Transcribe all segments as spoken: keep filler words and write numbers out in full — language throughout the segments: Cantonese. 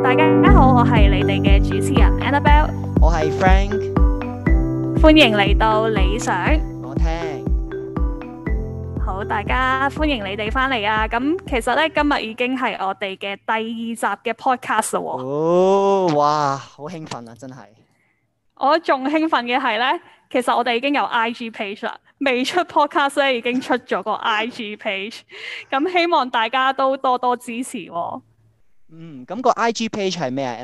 大家好，我係你哋嘅主持人 Annabelle， 我係 Frank， 歡迎嚟到理想我聽。 好，大家歡迎你哋翻嚟啊！咁其實咧，今日已經係我哋嘅第二集嘅 podcast 啦喎。 哦，哇，好興奮啊，真係！ 我仲興奮嘅係咧，其實我哋已經有 I G page 啦，未出 podcast 咧已經出咗個 I G page，咁希望大家都多多支持喎。 嗯，咁個 I G page 係咩啊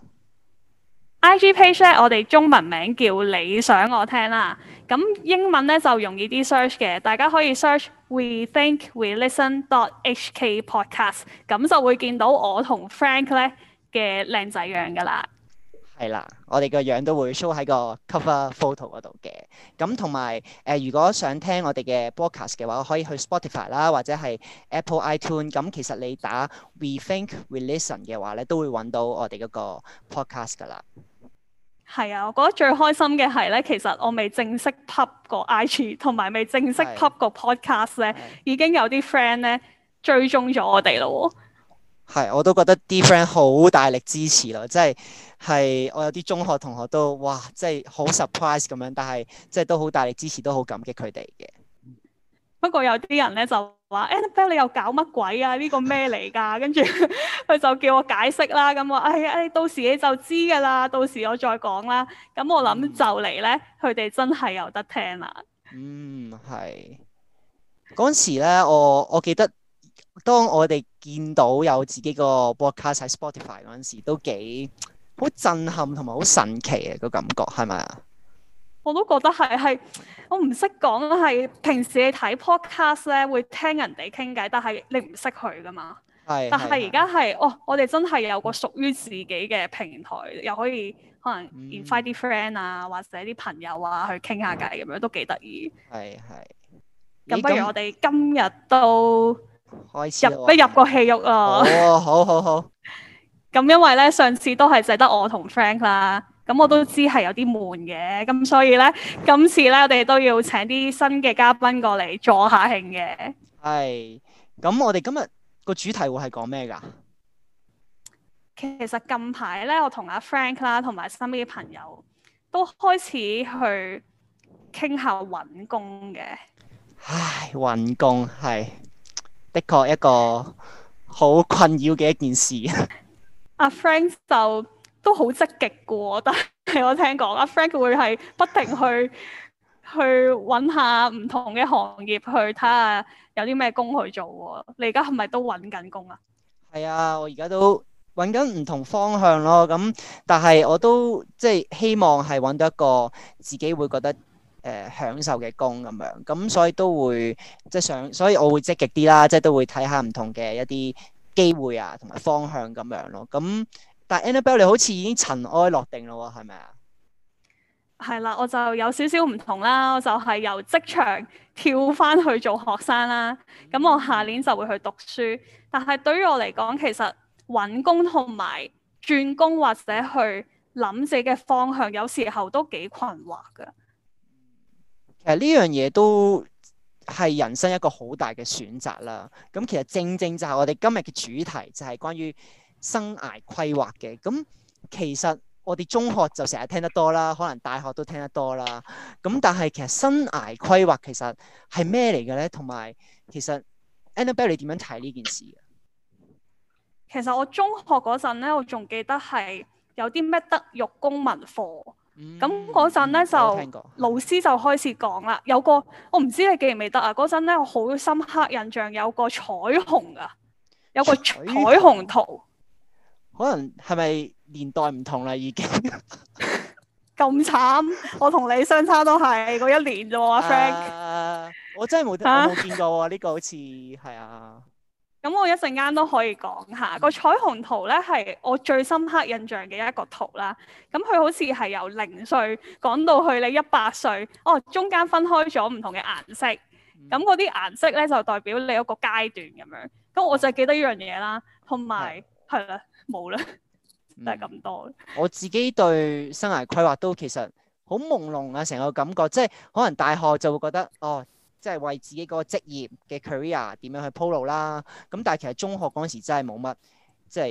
Annabelle？I G page 咧，我哋中文名叫理想我聽啦，咁英文咧就容易啲 search 嘅，大家可以 search We Think We Listen dot H K podcast，咁就會見到我同 Frank 咧嘅靚仔樣噶啦。 係啦，我哋個樣都會 show 喺個 cover photo 嗰度嘅。咁同埋誒，如果想聽我哋嘅 podcast 嘅話，可以去 Spotify 啦，或者係 Apple iTunes。咁其實你打 We Think We Listen 嘅話咧，都會揾到我哋嗰個 podcast 噶啦。 係啊，我覺得最開心嘅係咧，其實我未正式 pub 個 I G，同埋未正式 pub 個 podcast 咧，已經有啲 friend 咧追蹤咗我哋咯喎。 係，我都覺得啲 friend 好大力支持咯，即係係我有啲中學同學都哇，即係好 surprise 咁樣，但係即係都好大力支持，都好感激佢哋嘅。 不過有啲人咧就話 Annabelle 你又搞乜鬼啊？呢個咩嚟㗎？跟住佢就叫我解釋啦。咁我哎哎，到時你就知㗎啦，到時我再講啦。咁我諗就嚟咧，佢哋真係有得聽啦。 嗯，係嗰陣時咧，我我記得。當我哋見到有自己個 podcast 喺 Spotify 嗰陣時，都幾好震撼同埋好神奇嘅個感覺，係咪啊？ 我都覺得係係，我唔識講係平時你睇 podcast 咧會聽人哋傾偈，但係你唔識佢噶嘛。係。但係而家係，哦，我哋真係有個屬於自己嘅平台，又可以可能 invite 啲 friend 啊，或者啲朋友啊去傾下偈咁樣，都幾得意。係係。咁不如我哋今日都開始入一入個戲肉啊！ 哦，好好好。 咁因為咧上次都係淨得我同 Frank 啦，咁我都知係有啲悶嘅，咁所以咧今次咧我哋都要請啲新嘅嘉賓過嚟助下興嘅。係。 咁我哋今日個主題會係講咩㗎？ 其實近排咧，我同阿 Frank 啦，同埋身邊嘅朋友都開始去傾下揾工嘅。 唉，揾工係。的確一個好困擾嘅一件事。 阿 Frank 就都好積極嘅喎，但係我聽講阿 Frank 會係不停去去揾下唔同嘅行業去睇下有啲咩工去做喎。你而家係咪都揾緊工啊？ 係啊，我而家都揾緊唔同方向咯。咁但係我都即係希望係揾到一個自己會覺得誒、呃、享受嘅工咁樣，咁所以都會即係想，所以我會積極啲啦，即係都會睇下唔同嘅一啲機會啊，同埋方向咁樣咯。咁但係 Annabelle 你好似已經塵埃落定咯喎，係咪啊？ 係啦，我就有少少唔同啦，我就係由職場跳翻去做學生啦。咁我下年就會去讀書，但係對於我嚟講，其實揾工同埋轉工或者去諗自己嘅方向，有時候都幾困惑㗎。 其實呢樣嘢都係人生一個好大嘅選擇啦。咁其實正正就係我哋今日嘅主題，就係關於生涯規劃嘅。咁其實我哋中學就成日聽得多啦，可能大學都聽得多啦。咁但係其實生涯規劃其實係咩嚟嘅咧？同埋其實 Annabelle 你點樣睇呢件事嘅？ 其實我中學嗰陣咧，我仲記得係有啲咩德育公民課。咁嗰陣咧就老師就開始講啦，有個我唔知你記唔記得啊？嗰陣咧我好深刻印象有個彩虹啊，有個彩虹圖。 可能係咪年代唔同啦已經？ 咁慘，我同你相差都係嗰一年啫喎，阿 Frank。 Uh, 我真係冇冇見過喎，呢、啊、個好似係啊。 咁我一陣間都可以講下個彩虹圖咧，係我最深刻印象嘅一個圖啦。咁佢好似係由零歲講到去你一百歲，哦，中間分開咗唔同嘅顏色。咁嗰啲顏色咧就代表你一個階段咁樣。咁我就記得呢樣嘢啦，同埋係啦，冇啦，就係咁多。 我自己對生涯規劃都其實好朦朧啊，成個感覺，即係可能大學就會覺得哦。即係為自己嗰個職業嘅 career 點樣去鋪路啦，咁但係其實中學嗰陣時真係冇乜即係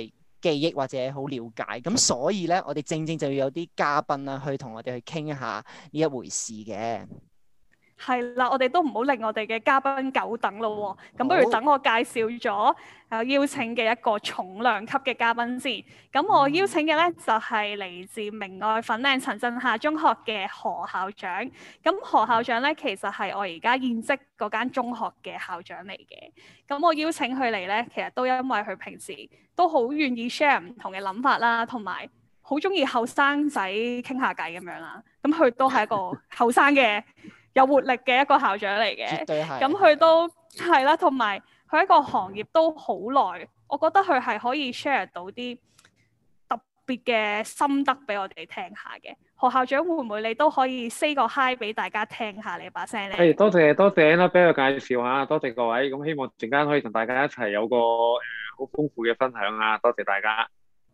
記憶或者好了解。咁所以咧，我哋正正就要有啲嘉賓啦，去同我哋去傾一下呢一回事嘅。 係啦，我哋都唔好令我哋嘅嘉賓久等咯喎。咁不如等我介紹咗誒邀請嘅一個重量級嘅嘉賓先。咁我邀請嘅咧就係嚟自明愛粉嶺陳震夏中學嘅何校長。咁何校長咧其實係我而家現職嗰間中學嘅校長嚟嘅。咁我邀請佢嚟咧，其實都因為佢平時都好願意 share 唔同嘅諗法啦，同埋好中意後生仔傾下偈咁樣啦。咁佢都係一個後生嘅有活力嘅一個校長嚟嘅， 絕對係。 咁佢都係啦，同埋佢喺個行業都好耐，我覺得佢係可以 share 到啲特別嘅心得俾我哋聽下嘅。何校長會唔會你都可以 say 個 hi 俾大家聽下你把聲咧？ 係，多謝多謝啦，俾我介紹下，多謝各位。咁希望陣間可以同大家一齊有個誒好豐富嘅分享啊！多謝大家。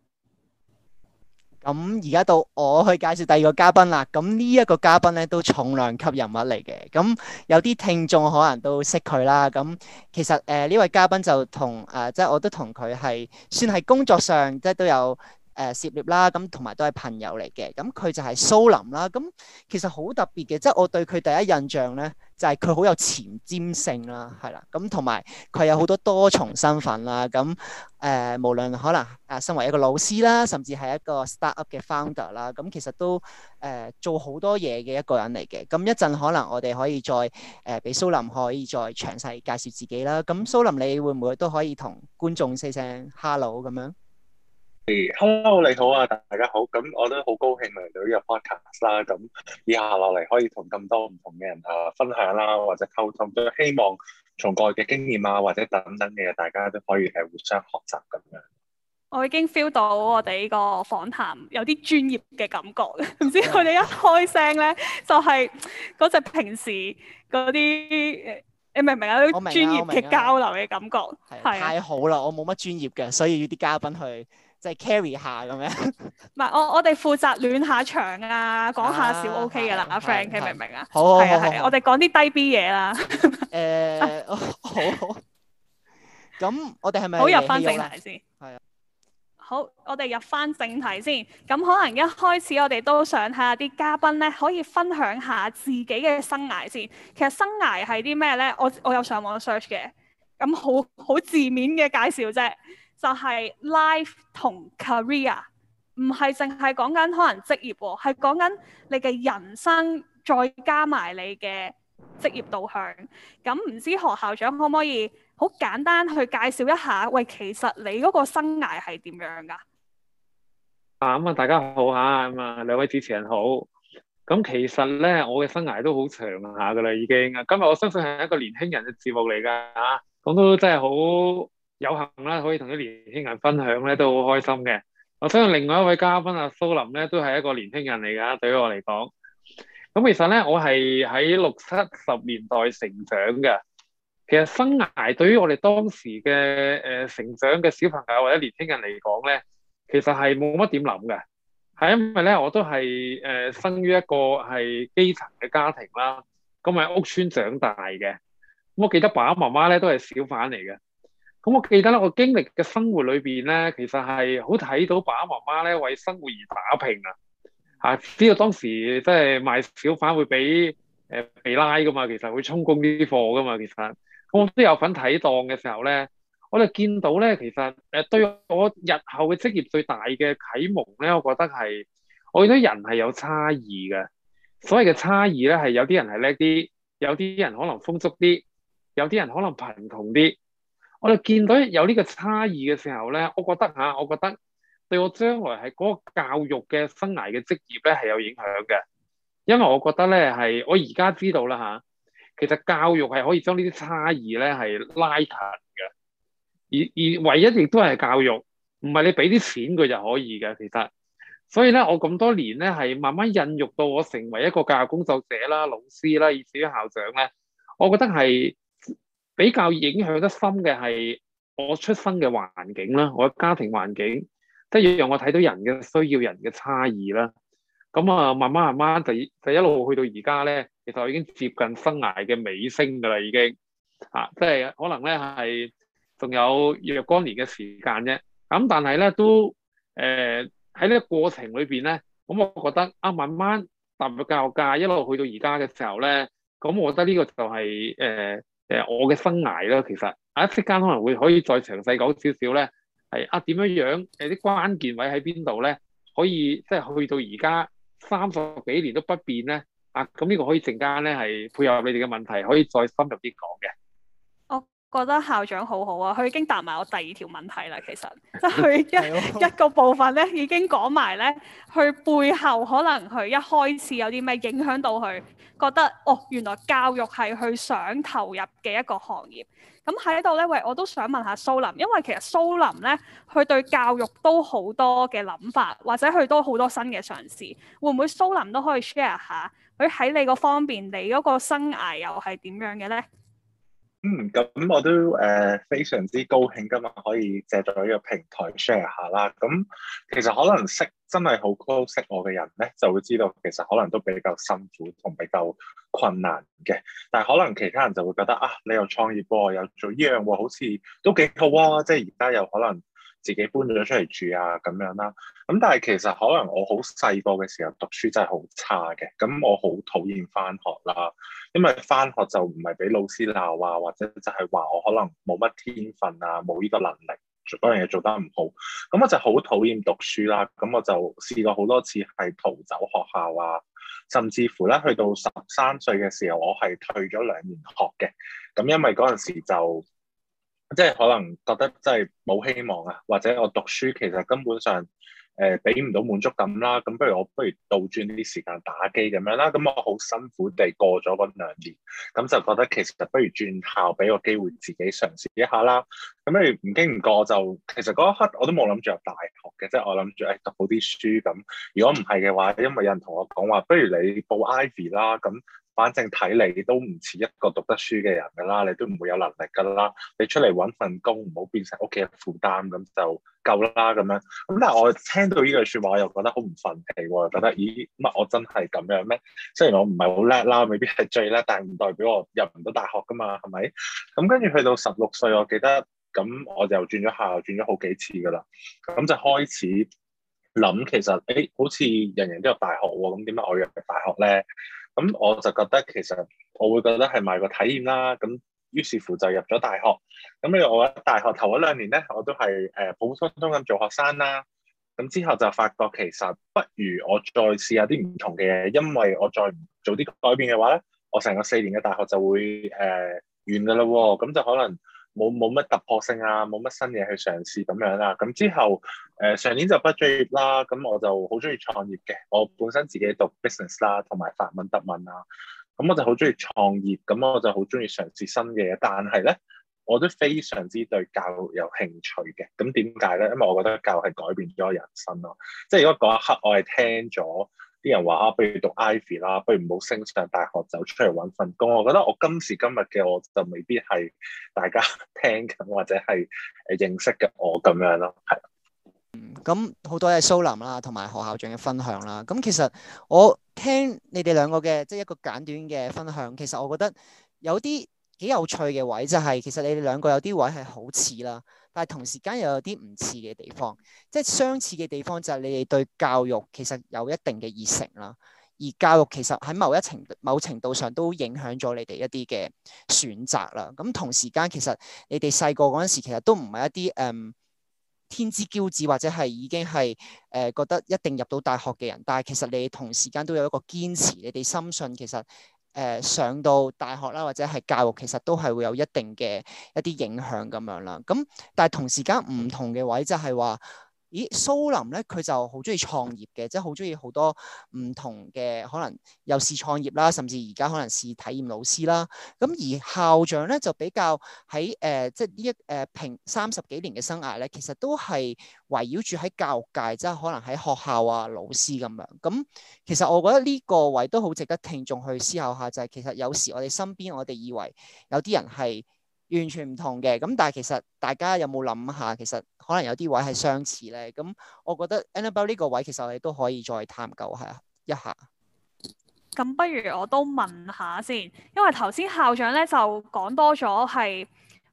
咁而家到我去介紹第二個嘉賓啦。咁呢一個嘉賓咧都重量級人物嚟嘅。咁有啲聽眾可能都識佢啦。咁其實誒呢、呃、位嘉賓就同誒、呃、即係我都同佢係算係工作上即係都有誒、呃、涉獵啦。咁同埋都係朋友嚟嘅。咁佢就係蘇林啦。咁其實好特別嘅，即係我對佢第一印象咧就係佢好有前瞻性啦，係啦。咁同埋佢有好多多重身份啦。咁誒、呃，無論可能誒，身為一個老師啦，甚至係一個 startup 嘅 founder 啦，咁其實都誒、呃、做好多嘢嘅一個人嚟嘅。咁一陣可能我哋可以再誒，俾、呃、蘇林可以再詳細介紹自己啦。咁蘇林，你會唔會都可以同觀眾 say 聲 hello 咁樣？ 誒，hello，你好啊，大家好。咁我都好高興嚟到呢個 podcast 啦。咁以下落嚟可以同咁多唔同嘅人啊分享啦，或者溝通，都希望從過去嘅經驗啊，或者等等嘅，大家都可以係互相學習咁樣。 我已經 feel 到我哋呢個訪談有啲專業嘅感覺，唔知佢哋一開聲咧，就係嗰隻平時嗰啲，你明唔明啊？啲專業嘅交流嘅感覺， 係太好啦！我冇乜專業嘅，所以要啲嘉賓去即係 carry 下咁樣。唔係，我我哋負責暖下場啊，講下笑 OK 嘅啦，阿 Frank，你明唔明啊？ 好，好， 係啊係啊，我哋講啲低 B 嘢啦。 誒，好好。咁我哋係咪好入翻正題先？ 係啊。 好，我哋入翻正題先。咁可能一開始我哋都想睇下啲嘉賓咧，可以分享下自己嘅生涯先。其實生涯係啲咩咧？我我有上網 search 嘅，咁好好字面嘅介紹啫，就係 life 同 career，唔係淨係講緊可能職業喎，係講緊你嘅人生再加埋你嘅職業導向。咁唔知何校長可唔可以好簡單去介紹一下？喂，其實你嗰個生涯係點樣㗎？ 啊，咁啊，大家好嚇，咁啊，兩位主持人好。咁其實咧，我嘅生涯都好長下㗎啦，已經。今日我相信係一個年輕人嘅節目嚟㗎嚇，咁都真係好有幸啦，可以同啲年輕人分享咧，都好開心嘅。我相信另外一位嘉賓啊，蘇林咧，都係一個年輕人嚟㗎，對於我嚟講。咁其實咧，我係喺六七十年代成長嘅。其實生涯對於我哋當時嘅誒、呃、成長嘅小朋友或者年輕人嚟講咧，其實係冇乜點諗嘅，係因為咧我都係誒、呃、生於一個係基層嘅家庭啦，咁喺屋村長大嘅。咁我記得爸爸媽媽咧都係小販嚟嘅。咁我記得咧，我經歷嘅生活裏邊咧，其實係好睇到爸爸媽媽咧為生活而打拼啊！嚇，知道當時即係賣小販會俾誒被拉噶嘛，其實會充公啲貨噶嘛，其實。我都有份睇檔嘅時候咧，我哋見到咧，其實誒對我日後嘅職業最大嘅啟蒙咧，我覺得係我見到人係有差異嘅。所謂嘅差異咧，係有啲人係叻啲，有啲人可能豐足啲，有啲人可能貧窮啲。我哋見到有呢個差異嘅時候咧，我覺得嚇，我覺得對我將來係嗰個教育嘅生涯嘅職業咧係有影響嘅，因為我覺得咧係我而家知道啦嚇。其實教育係可以將呢啲差異咧係拉近嘅，而而唯一亦都係教育，唔係你俾啲錢佢就可以嘅。其實，所以咧我咁多年咧係慢慢孕育到我成為一個教育工作者啦、老師啦，以至於校長咧，我覺得係比較影響得深嘅係我出生嘅環境啦，我嘅家庭環境，即係讓我睇到人嘅需要、人嘅差異啦。咁啊，慢慢慢慢就就一路去到而家咧。其實我已經接近生涯嘅尾聲㗎啦，已經啊，即係可能咧係仲有若干年嘅時間啫。 咁但係咧都誒喺呢個過程裏邊咧，咁我覺得啊慢慢踏入教育界一路去到而家嘅時候咧，咁我覺得呢個就係誒誒我嘅生涯啦。其實啊，一陣間可能會可以再詳細講少少咧，係啊點樣樣誒啲關鍵位喺邊度咧，可以即係去到而家三十幾年都不變咧。啊，咁呢個可以陣間咧係配合你哋嘅問題，可以再深入啲講嘅。 覺得校長好好啊，佢已經答埋我第二條問題啦。其實即係佢一一個部分咧，已經講埋咧，佢背後可能佢一開始有啲咩影響到佢，覺得哦，原來教育係佢想投入嘅一個行業。咁喺度咧，喂，我都想問下蘇林，因為其實蘇林咧，佢對教育都好多嘅諗法，或者佢都好多新嘅嘗試。會唔會蘇林都可以 share 下佢喺你個方面，你嗰個生涯又係點樣嘅咧？ 嗯，咁我都誒、呃、非常之高興今日可以借助呢個平台 share 下啦。咁其實可能識真係好 close 識我嘅人咧，就會知道其實可能都比較辛苦同比較困難嘅。但係可能其他人就會覺得啊，你又創業喎，又做呢樣喎，好似都幾好啊！即係而家又可能自己搬咗出嚟住啊咁樣啦。咁但係其實可能我好細個嘅時候讀書真係好差嘅，咁我好討厭返學啦。因為返學就唔係俾老師鬧啊，或者就係話我可能冇乜天分啊，冇呢個能力做嗰樣嘢做得唔好，咁我就好討厭讀書啦。咁我就試過好多次係逃走學校啊，甚至乎咧去到十三歲嘅時候，我係退咗兩年學嘅。咁因為嗰陣時就即係可能覺得真係冇希望啊，或者我讀書其實根本上誒俾唔到滿足感啦，咁不如我不如倒轉啲時間打機咁樣啦，咁我好辛苦地過咗嗰兩年，咁就覺得其實不如轉校俾個機會自己嘗試一下啦。咁不如唔經唔覺就其實嗰一刻我都冇諗住入大學嘅，即係我諗住誒讀好啲書咁。如果唔係嘅話，因為有人同我講話，不如你報 Ivy 啦，咁反正睇你都唔似一個讀得書嘅人㗎啦，你都唔會有能力㗎啦，你出嚟揾份工唔好變成屋企嘅負擔咁就夠啦咁樣。咁但係我聽到呢句説話，我又覺得好唔憤氣喎，覺得咦乜我真係咁樣咩？雖然我唔係好叻啦，未必係最叻，但係唔代表我入唔到大學㗎嘛，係咪？咁跟住去到十六歲，我記得咁我就轉咗校，轉咗好幾次㗎啦。咁就開始諗，其實誒、欸、好似人人都入大學喎，咁點解我要入大學咧？咁我就覺得其實我會覺得係賣個體驗啦。咁於是乎就入咗大學。咁你我喺大學頭嗰兩年咧，我都係誒普普通通咁做學生啦。咁之後就發覺其實不如我再試下啲唔同嘅嘢，因為我再唔做啲改變嘅話咧，我成個四年嘅大學就會誒、呃、完㗎啦喎。咁就可能冇冇乜突破性啊，冇乜新嘢去嘗試咁樣啦。咁之後誒、呃、上年就畢咗業啦，咁我就好中意創業嘅。我本身自己讀 business 啦，同埋法文德文啊，咁我就好中意創業，咁我就好中意嘗試新嘅嘢。但係咧，我都非常之對教育有興趣嘅。咁點解咧？因為我覺得教育係改變咗我人生咯。即係如果嗰一刻我係聽咗啲人話啊，不如讀 Ivy 啦，不如唔好升上大學，走出嚟揾份工。我覺得我今時今日嘅我就未必係大家聽緊或者係誒認識嘅我咁樣咯，係。 嗯，咁好多謝蘇林啦，同埋何校長嘅分享啦。咁其實我聽你哋兩個嘅即係一個簡短嘅分享，其實我覺得有啲幾有趣嘅位就係，其實你哋兩個有啲位係好似啦。但係同時間又有啲唔似嘅地方，即係相似嘅地方就係你哋對教育其實有一定嘅熱誠啦，而教育其實喺某一程某程度上都影響咗你哋一啲嘅選擇啦。咁同時間其實你哋細個嗰陣時其實都唔係一啲誒、嗯、天之驕子或者係已經係誒、呃、覺得一定入到大學嘅人，但係其實你哋同時間都有一個堅持，你哋深信其實。誒、呃、上到大學啦，或者係教育，其實都係會有一定嘅一啲影響咁樣啦。咁但係同時間唔同嘅位就係話，咦蘇林咧佢就好中意創業嘅，即係好中意好多唔同嘅可能又試創業啦，甚至而家可能試體驗老師啦。咁而校長咧就比較喺誒、呃、即係呢一誒平三十幾年嘅生涯咧，其實都係圍繞住喺教育界，即係可能喺學校啊老師咁樣。咁其實我覺得呢個位都好值得聽眾去思考下，就係、是、其實有時我哋身邊我哋以為有啲人係完全唔同嘅，咁但係其實大家有冇諗下，其實可能有啲位係相似咧。咁我覺得 Annabelle 呢個位其實我哋都可以再探究下一下。 咁不如我都問下先，因為頭先校長咧就講多咗係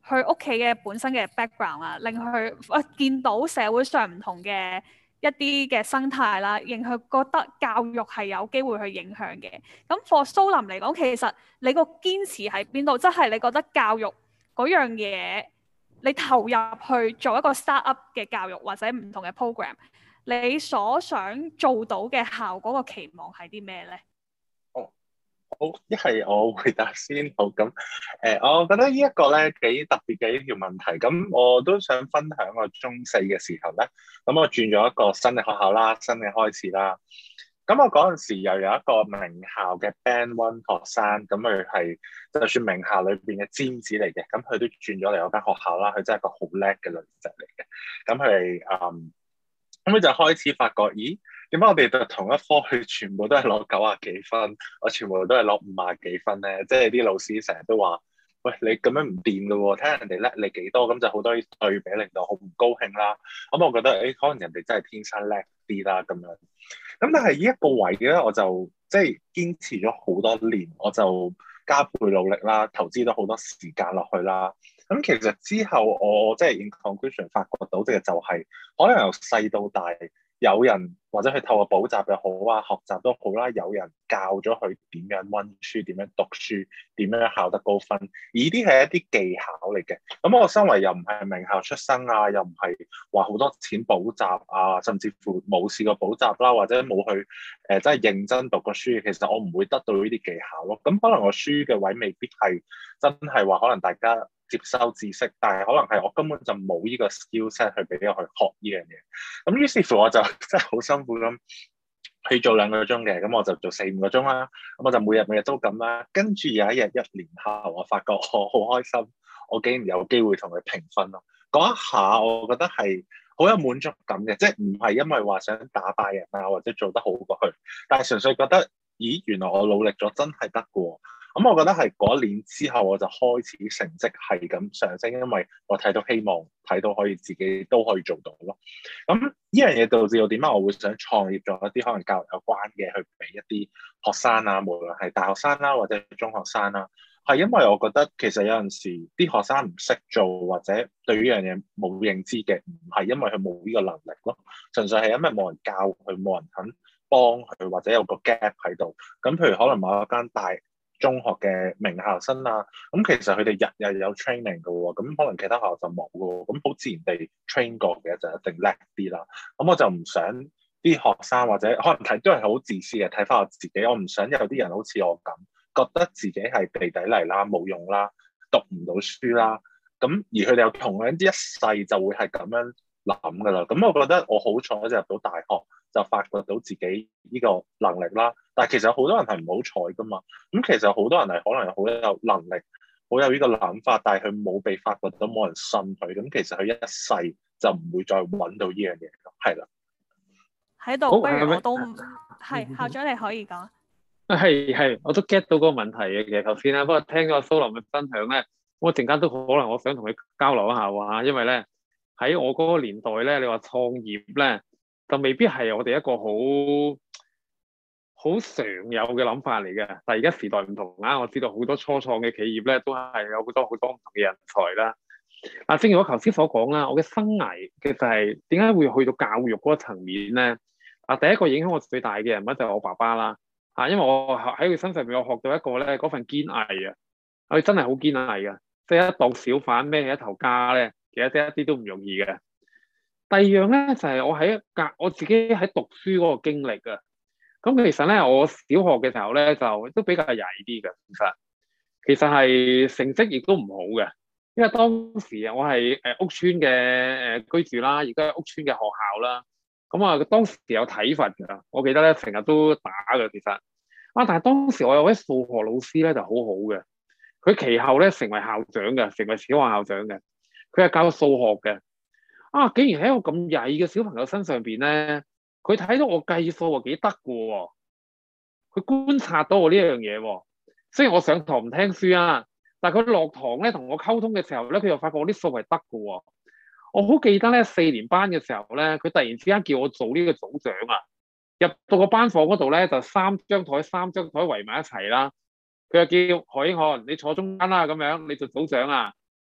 佢屋企嘅本身嘅 background 啊，令佢啊見到社會上唔同嘅一啲嘅生態啦，令佢覺得教育係有機會去影響嘅。咁 for 蘇林嚟講，其實你個堅持喺邊度？即係你覺得教育嗰樣嘢，你投入去做一個 startup 嘅教育或者唔同嘅 program，你所想做到嘅效果個期望係啲咩咧？ 哦，好，一係我回答先。好，咁誒、呃，我覺得呢一個咧幾特別嘅一條問題。咁我都想分享我中四嘅時候咧，咁我轉咗一個新嘅學校啦，新嘅開始啦。咁我嗰陣時又有一個名校嘅 Band One 學生，咁佢係就算名校裏邊嘅尖子嚟嘅，咁佢都轉咗嚟我間學校啦。佢真係一個好叻嘅女仔嚟嘅。咁佢係嗯，咁佢就開始發覺，咦？點解我哋讀同一科，佢全部都係攞九啊幾分，我全部都係攞五啊幾分咧？即係啲老師成日都話：喂，你咁樣唔掂㗎喎，睇下人哋叻你幾多，咁就好多對比，令到好唔高興啦。咁我覺得，誒、欸，可能人哋真係天生叻啲啦，咁樣。咁但係呢一個位咧，我就即係堅持咗好多年，我就加倍努力啦，投資咗好多時間落去啦。咁其實之後我即係 in conclusion 發覺到嘅就係、是，可能由細到大，有人或者佢透過補習又好啊，學習都好啦，有人教咗佢點樣溫書、點樣讀書、點樣考得高分，而呢啲係一啲技巧嚟嘅。咁我身為又唔係名校出身啊，又唔係話好多錢補習啊，甚至乎冇試過補習啦，或者冇去誒、呃、真係認真讀過書，其實我唔會得到呢啲技巧咯。咁可能我書嘅位未必係真係話可能大家接收知識，但係可能係我根本就冇呢個 skill set 去俾我去學呢樣嘢。咁於是乎我就真係好辛苦咁去做兩個鐘嘅，咁我就做四五個鐘啦。咁我就每日每日都咁啦。跟住有一日一年後，我發覺我好開心，我竟然有機會同佢平分咯。嗰一下我覺得係好有滿足感嘅，即係唔係因為話想打敗人啊，或者做得好過去，但係純粹覺得，咦，原來我努力咗真係得嘅喎。咁我覺得係嗰一年之後，我就開始成績係咁上升，因為我睇到希望，睇到可以自己都可以做到咯。咁呢樣嘢導致到點解我會想創業做一啲可能教育有關嘅，去俾一啲學生啊，無論係大學生啦、啊、或者中學生啦、啊，係因為我覺得其實有陣時啲學生唔識做或者對呢樣嘢冇認知嘅，唔係因為佢冇呢個能力咯，純粹係因為冇人教佢，冇人肯幫佢，或者有個 gap 喺度。咁譬如可能某一間大中學嘅名校生啊，咁其實佢哋日日有 training 嘅喎，咁可能其他學校就冇嘅喎，咁好自然地 train 過嘅就一定叻啲啦。咁我就唔想啲學生或者可能睇都係好自私嘅，睇翻我自己，我唔想有啲人好似我咁，覺得自己係地底泥啦、冇用啦、讀唔到書啦，咁而佢哋又同樣一世就會係咁樣諗噶啦。咁我覺得我好彩就入到大學，就發掘到自己呢個能力啦。但係其實好多人係唔好彩噶嘛。咁其實好多人係可能好有能力，好有呢個諗法，但係佢冇被發掘到，冇人信佢。咁其實佢一世就唔會再揾到呢樣嘢咯。係啦， 喺度，不如我都係校長，你可以講。 係係，我都 get 到嗰個問題嘅。其實頭先啦，不過聽咗蘇林嘅分享咧，我陣間都可能我想同佢交流一下話，因為咧喺我嗰個年代咧，你話創業咧，就未必係我哋一個好好常有嘅諗法嚟嘅。但係而家時代唔同啦，我知道好多初創嘅企業咧，都係有好多好多唔同嘅人才啦。啊，正如我頭先所講啦，我嘅生涯其實係點解會去到教育嗰個層面咧？啊，第一個影響我最大嘅人物就係我爸爸啦。啊，因為我喺佢身上邊，我學到一個咧，嗰份堅毅啊，佢真係好堅毅嘅，即係一檔小販孭起一頭家咧，其實真係一啲都唔容易嘅。第二樣咧就係、是、我喺隔我自己喺讀書嗰個經歷啊。咁其實咧，我小學嘅時候咧就都比較曳啲嘅，其實其實係成績亦都唔好嘅，因為當時啊，我係誒屋村嘅誒居住啦，而家屋村嘅學校啦。咁啊，當時有體罰㗎，我記得咧成日都打㗎，其實啊，但係當時我有位數學老師咧就好好嘅，佢其後咧成為校長嘅，成為小學校長嘅，佢係教數學嘅。啊，竟然喺一個咁曳嘅小朋友身上邊咧，佢睇到我計數啊幾得㗎喎，佢觀察到我呢樣嘢喎。雖然我上堂唔聽書啊，但係佢落堂咧同我溝通嘅時候咧，佢又發覺我啲數係得㗎喎。我好記得咧，四年班嘅時候咧，佢突然之間叫我做呢個組長啊！入到個班房嗰度咧，就三張台三張台圍埋一齊啦。佢又叫何英漢，你坐中間啦，咁樣你做組長啊！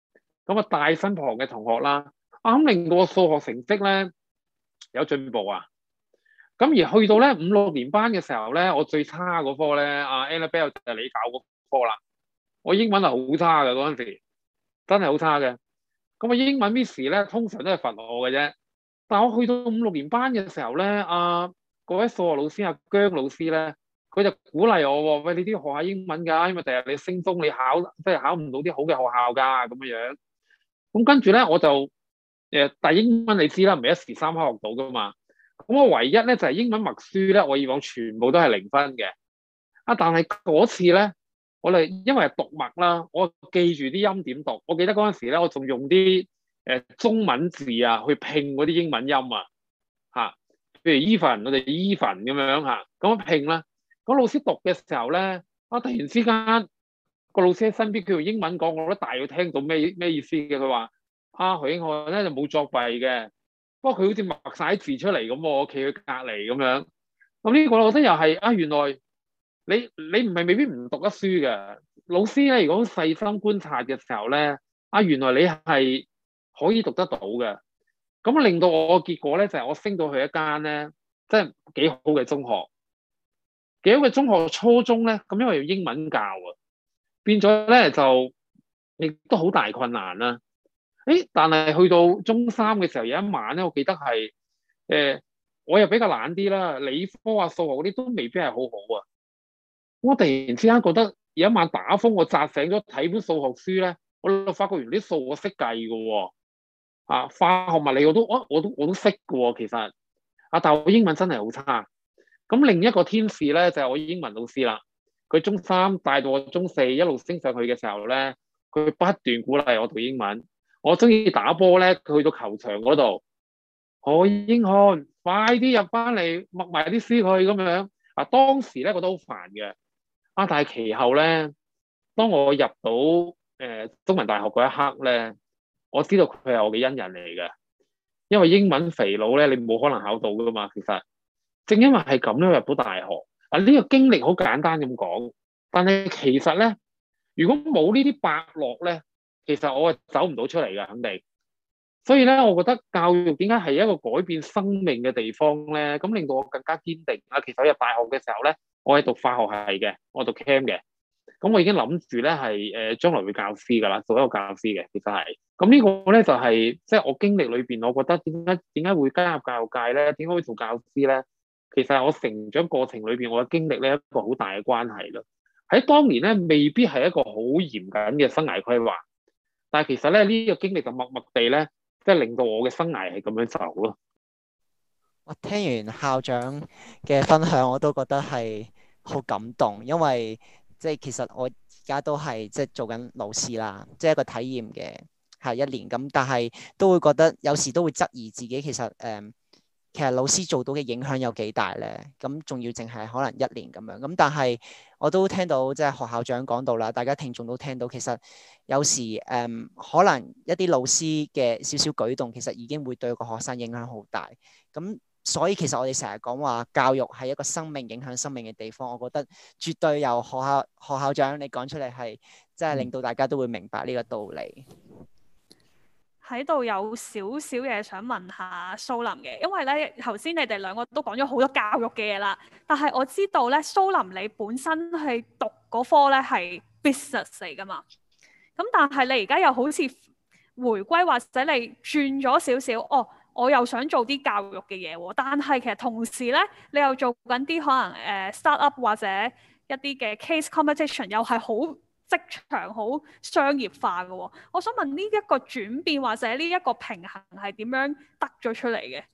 咁啊大身旁嘅同學啦，啱令到我數學成績咧有進步啊。咁而去到咧五六年班嘅時候咧，我最差嗰科咧，阿 Annabelle 就係你搞嗰科啦。我英文係好差嘅嗰陣時，真係好差嘅。咁啊英文 Miss 咧通常都係罰我嘅啫。但係我去到五六年班嘅時候咧，啊嗰位數學老師阿姜老師咧，佢就鼓勵我喎，喂，你都要學下英文㗎，因為第日你升中你考即係考唔到啲好嘅學校㗎咁樣樣。咁跟住咧我就誒，但係英文你知啦，唔係一時三刻學到㗎嘛。咁我唯一咧就係英文默書咧，我以往全部都係零分嘅。啊，但係嗰次咧，我哋因為係讀默啦，我記住啲音點讀。我記得嗰陣時咧，我仲用啲誒中文字啊去拼嗰啲英文音啊，嚇，譬如 even 我哋 even 咁樣嚇，咁樣拼啦。咁老師讀嘅時候咧，啊突然之間個老師喺身邊，佢用英文講，我都大約聽到咩咩意思嘅。佢話：啊許英漢咧就冇作弊嘅。不過佢好似默晒字出嚟咁，我企佢隔離咁樣。咁呢個我覺得又係啊，原來你你唔係未必唔讀得書嘅。老師咧，如果細心觀察嘅時候咧，啊原來你係可以讀得到嘅。咁令到我嘅結果咧，就係、是、我升到去一間咧，即係幾好嘅中學。幾好嘅中學初中咧，咁因為要英文教啊，變咗咧就亦都好大困難啦。誒，但係去到中三嘅時候，有一晚咧，我記得係誒、呃，我又比較懶啲啦，理科啊、數學嗰啲都未必係好好啊。我突然之間覺得有一晚打風，我扎醒咗睇本數學書咧，我就發覺原來啲數我識計嘅喎，啊，化學物理我都我我都我都識嘅喎，其實啊，但係我英文真係好差。咁另一個天使咧就係、是、我英文老師啦，佢中三帶到我中四一路升上去嘅時候咧，佢不斷鼓勵我讀英文。我中意打波咧，佢去到球場嗰度，何英漢，快啲入翻嚟，默埋啲書去咁樣。啊，當時咧覺得好煩嘅，啊，但係其後咧，當我入到誒、呃、中文大學嗰一刻咧，我知道佢係我嘅恩人嚟嘅，因為英文肥佬咧，你冇可能考到噶嘛。其實正因為係咁樣入到大學，啊呢、這個經歷好簡單咁講，但係其實咧，如果冇呢啲伯樂咧，其實我係走唔到出嚟嘅，肯定。所以咧，我覺得教育點解係一個改變生命嘅地方咧？咁令到我更加堅定啊！其實我入大學嘅時候咧，我係讀化學系嘅，我讀 Chem 嘅。咁我已經諗住咧係誒將來會教師㗎啦，做一個教師嘅。其實係。咁呢個咧就係即係我經歷裏邊，我覺得點解點解會加入教育界咧？點解會做教師咧？其實係我成長過程裏邊，我嘅經歷咧一個好大嘅關係咯。喺當年咧，未必係一個好嚴謹嘅生涯規劃。但係其實咧，呢、這個經歷就默默地咧，即係令到我嘅生涯係咁樣走咯。 我聽完校長嘅分享，我都覺得係好感動，因為即係其實我而家都係即係做緊老師啦，即係一個體驗嘅係一年咁，但係都會覺得有時都會質疑自己，其實誒、嗯，其實老師做到嘅影響有幾大咧？咁仲要淨係可能一年咁樣咁，但係我都聽到即係學校長講到啦，大家聽眾都聽到，其實有時誒、嗯、可能一啲老師嘅少少舉動，其實已經會對個學生影響好大。咁所以其實我哋成日講話教育係一個生命影響生命嘅地方，我覺得絕對由學校學校長你講出嚟係，即係令到大家都會明白呢個道理。 喺度有少少嘢想問下蘇林嘅，因為咧頭先你哋兩個都講咗好多教育嘅嘢啦，但係我知道咧蘇林你本身係讀嗰科咧係 business 嚟噶嘛，咁但係你而家又好似回歸或者你轉咗少少，哦，我又想做啲教育嘅嘢喎，但係其實同時咧你又做緊啲可能誒、呃、start up 或者一啲嘅 case competition 又係好職場好商業化嘅喎，我想問呢一個轉變或者呢一個平衡係點樣得咗出嚟嘅？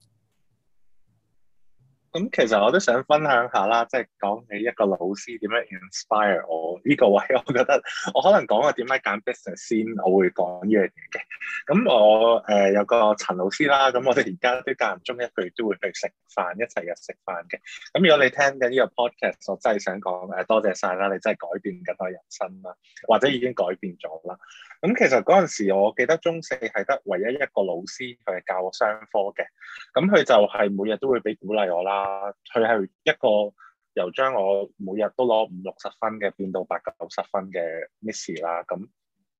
咁其實我都想分享下啦，即係講起一個老師點樣 inspire 我呢個位，我覺得我可能講我點解揀 business 先，我會講呢樣嘢嘅。咁我誒、呃、有個陳老師啦，咁我哋而家都間唔中一個月都會去食飯，一齊嘅食飯嘅。咁如果你聽緊呢個 podcast，我真係想講誒多謝晒啦，你真係改變緊我人生啦，或者已經改變咗啦。咁其實嗰陣時，我記得中四係得唯一一個老師佢係教我商科嘅，咁佢就係每日都會俾鼓勵我啦。佢係一個由將我每日都攞五六十分嘅變到八九十分嘅 Miss 啦。咁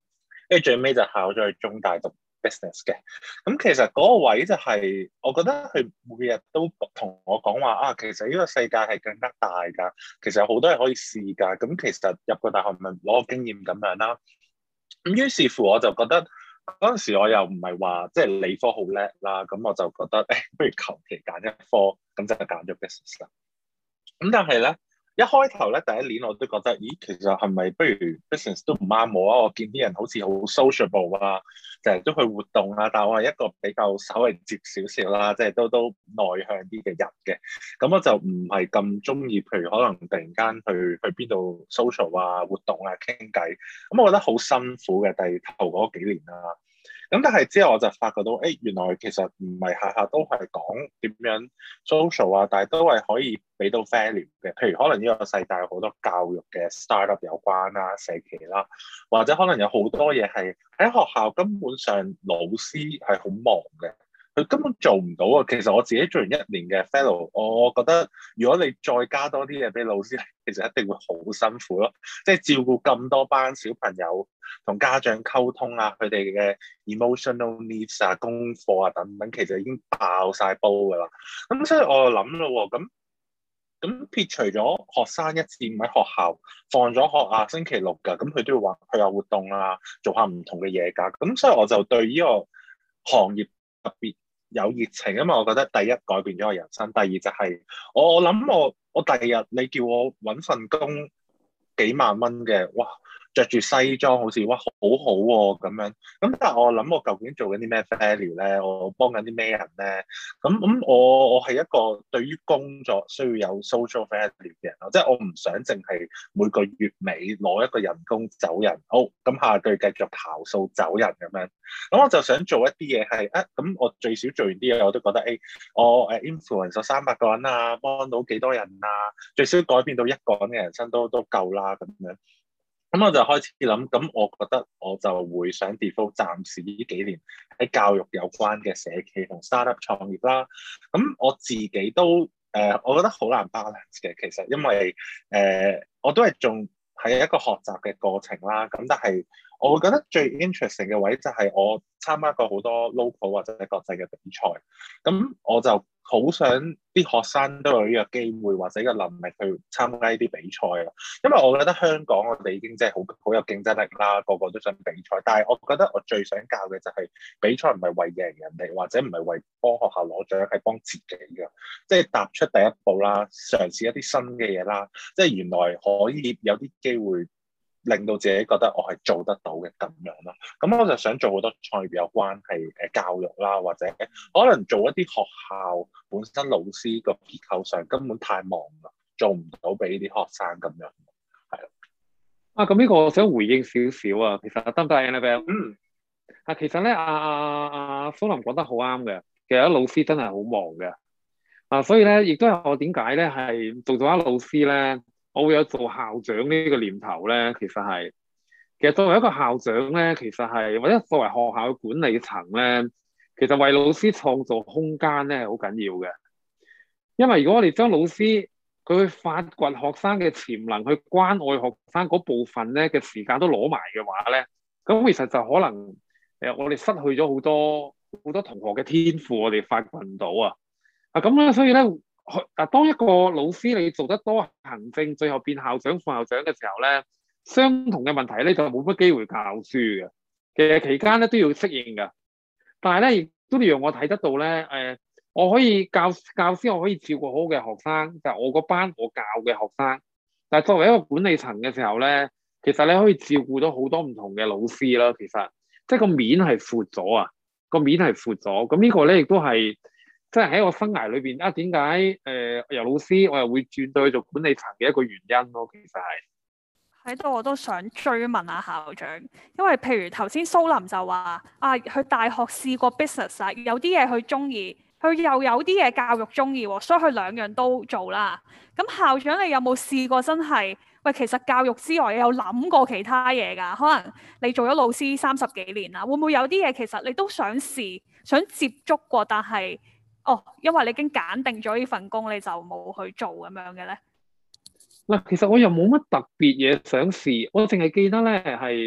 跟住最尾就考咗去中大讀 business 嘅。咁其實嗰個位就係、是，我覺得佢每日都同我講話啊，其實呢個世界係更加大㗎，其實有好多嘢可以試㗎。咁其實入個大學咪攞個經驗咁樣啦。咁於是乎我就覺得嗰陣時我又唔係話即係理科好叻啦，咁我就覺得誒、哎，不如求其揀一科，咁就揀咗 business 啦。咁但係咧，一開頭咧第一年我都覺得，咦，其實係咪不如 business 都唔啱我啊？我見啲人好似好 sociable 啊，成日都去活動啊，但係我係一個比較稍微接少少啦，即係都都內向啲嘅人嘅。咁我就唔係咁中意，譬如可能突然間去去邊度 social 啊、活動啊、傾偈，咁我覺得好辛苦嘅。第頭嗰幾年啦。咁但係之後我就發覺到，誒、哎、原來其實唔係下下都係講點樣 social 啊，但係都係可以俾到 value 嘅。譬如可能呢個世界有好多教育嘅 startup 有關啦、社企啦，或者可能有好多嘢係喺學校根本上老師係好忙嘅。佢根本做唔到啊！其實我自己做完一年嘅 fellow，我覺得如果你再加多啲嘢俾老師，其實一定會好辛苦咯。即係照顧咁多班小朋友，同家長溝通啊，佢哋嘅 emotional needs 啊、功課啊等等，其實已經爆晒煲㗎啦。咁所以我就諗咯，咁咁撇除咗學生一至五喺學校放咗學啊，星期六㗎，咁佢都要話去下活動啊，做下唔同嘅嘢㗎。咁所以我就對呢個行業特別有熱情，因為我覺得第一改變咗我人生，第二就係、是、我我諗我我第二日你叫我揾份工幾萬蚊嘅，哇！着住西裝好似哇好好喎咁樣，咁但係我諗我究竟做緊啲咩 value 咧？我幫緊啲咩人咧？咁咁我我係一個對於工作需要有 social value 嘅人咯，即係我唔想淨係每個月尾攞一個人工走人，好咁下個月繼續刨數走人咁樣。咁我就想做一啲嘢係啊，咁我最少做完啲嘢我都覺得誒、哎，我誒 influence 咗三百個人啊，幫到幾多人啊，最少改變到一個人嘅人生都都夠啦咁樣。咁我就開始諗，咁我覺得我就會想 default 暫時呢幾年喺教育有關嘅社企同 startup 創業啦。咁我自己都誒、呃，我覺得好難 balance 嘅，其實因為誒、呃，我都係仲係一個學習嘅過程啦。咁但係我會覺得最 interesting 嘅位就係我參加過好多 local 或者國際嘅比賽，咁我就好想啲學生都有呢個機會或者個能力去參加呢啲比賽啊，因為我覺得香港我哋已經真係好好有競爭力啦，個個都想比賽。但係我覺得我最想教嘅就係比賽唔係為贏人哋，或者唔係為幫學校攞獎，係幫自己嘅，即係踏出第一步啦，嘗試一啲新嘅嘢啦，即係原來可以有啲機會令到自己覺得我係做得到嘅咁樣咯。咁我就想做好多創業有關係誒教育啦，或者可能做一啲學校本身老師個結構上根本太忙啦，做唔到俾啲學生咁樣，係啦。 啊，咁呢個我想回應少少啊，其實得唔得 Annabelle？ 嗯，啊，其實咧，阿阿阿蘇林講得好啱嘅，其實啲老師真係好忙嘅，啊，所以咧，亦都係我點解咧係做咗一老師咧，我會有做校長呢個念頭咧，其實係，其實作為一個校長咧，其實係或者作為學校嘅管理層咧，其實為老師創造空間咧係好緊要嘅。因為如果我哋將老師佢去發掘學生嘅潛能，去關愛學生嗰部分咧嘅時間都攞埋嘅話咧，咁其實就可能誒、呃、我哋失去咗好多好多同學嘅天賦，我哋發掘唔到啊！啊咁咧，所以咧。嗱，當一個老師你做得多行政，最後變校長、副校長嘅時候咧，相同嘅問題咧就冇乜機會教書嘅。其實期間咧都要適應㗎，但係咧亦都讓我睇得到咧，誒、呃，我可以教教師，我可以照顧好嘅學生，就係、我個班我教嘅學生。但係作為一個管理層嘅時候咧，其實你可以照顧到好多唔同嘅老師啦。其實即係個面係闊咗啊，個面係闊咗。咁呢個咧亦都係。即係喺我生涯裏邊啊，點解誒由老師我又會轉到去做管理層嘅一個原因咯？其實係喺度我都想追問下校長，因為譬如頭先蘇林就話啊，佢大學試過 business 啊，有啲嘢佢中意，佢又有啲嘢教育中意喎，所以佢兩樣都做啦。咁校長你有冇試過真係喂？其實教育之外，你有諗過其他嘢㗎？可能你做咗老師三十幾年啦，會唔會有啲嘢其實你都想試、想接觸過，但係？哦，因為你已經揀定咗呢份工，你就冇去做咁樣嘅咧。嗱， 其實我又冇乜特別嘢想試，我淨係記得咧係